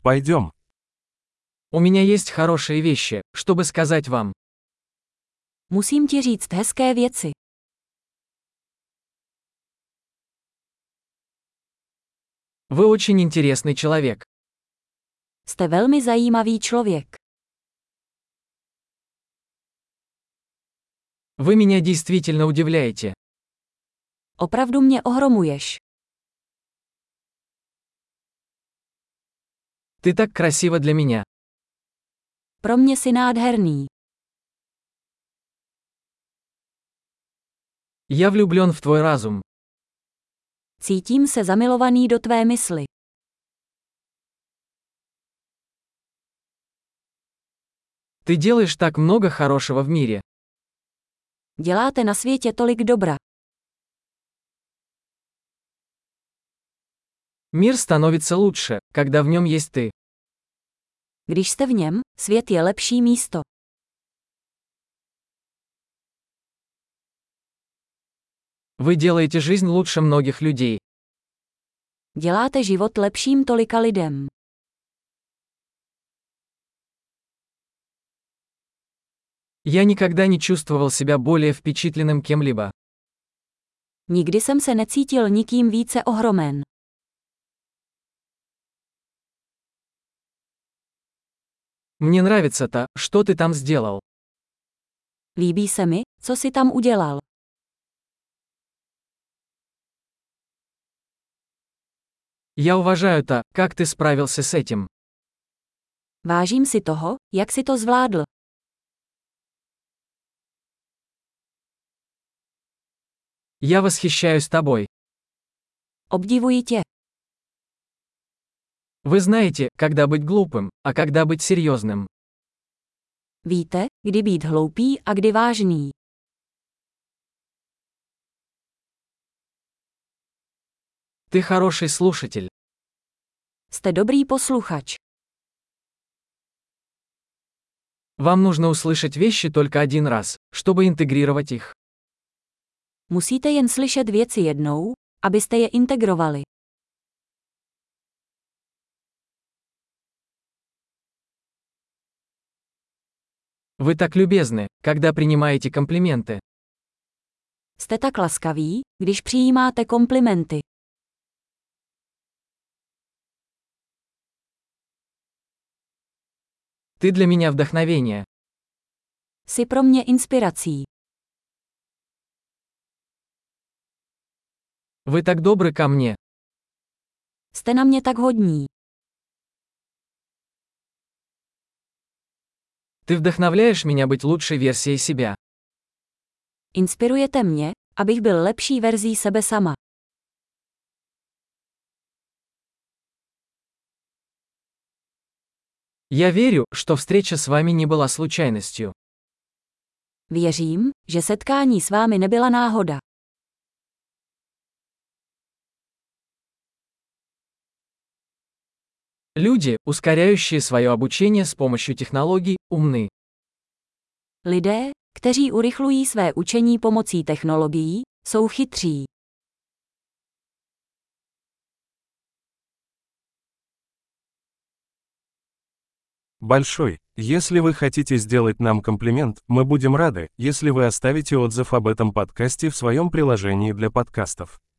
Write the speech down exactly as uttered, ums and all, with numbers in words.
Пойдем. У меня есть хорошие вещи, чтобы сказать вам. Musím ti říct hezké věci. Вы очень интересный человек. Jste velmi zajímavý člověk. Вы меня действительно удивляете. Opravdu mě ohromuješ. Ты так красива для меня. Pro mě si nádherný. Я влюблен в твой разум. Cítím se zamilovaný do tvé mysli. Ты делаешь так много хорошего в мире. Děláte na světě tolik dobra. Мир становится лучше, когда в нем есть ты. Když jste v něm, svět je lepší místo. Вы делаете жизнь лучше многих людей. Děláte život lepším tolika lidem. Я никогда не чувствовал себя более впечатленным кем-либо. Nikdy jsem se necítil nikým více ohromen. Мне нравится то, что ты там сделал. Líbí se mi, co jsi tam udělal. Я уважаю то, как ты справился с этим. Vážím si toho, jak jsi to zvládl. Я восхищаюсь тобой. Obdivuji tě. Вы знаете, когда быть глупым, а когда быть серьезным. Víte, kdy být hloupý a kdy vážný. Ты хороший слушатель. Jste dobrý posluchač. Вам нужно услышать вещи только один раз, чтобы интегрировать их. Musíte jen slyšet věci jednou, abyste je integrovali. Вы так любезны, когда принимаете комплименты. Jste tak laskaví, když přijímáte komplimenty. Ты для меня вдохновение. Jsi pro mě inspirací. Вы так добры ко мне. Jste na mě tak hodní. Ты вдохновляешь меня быть лучшей версией себя. Inspirujete mě, abych byl lepší verzí sebe sama. Я верю, что встреча с вами не была случайностью. Věřím, že setkání s vámi nebyla náhoda. Люди, ускоряющие свое обучение с помощью технологий, умны. Lidé, kteří urychlují své učení pomocí technologií, jsou chytří. Большой. Если вы хотите сделать нам комплимент, мы будем рады, если вы оставите отзыв об этом подкасте в своем приложении для подкастов.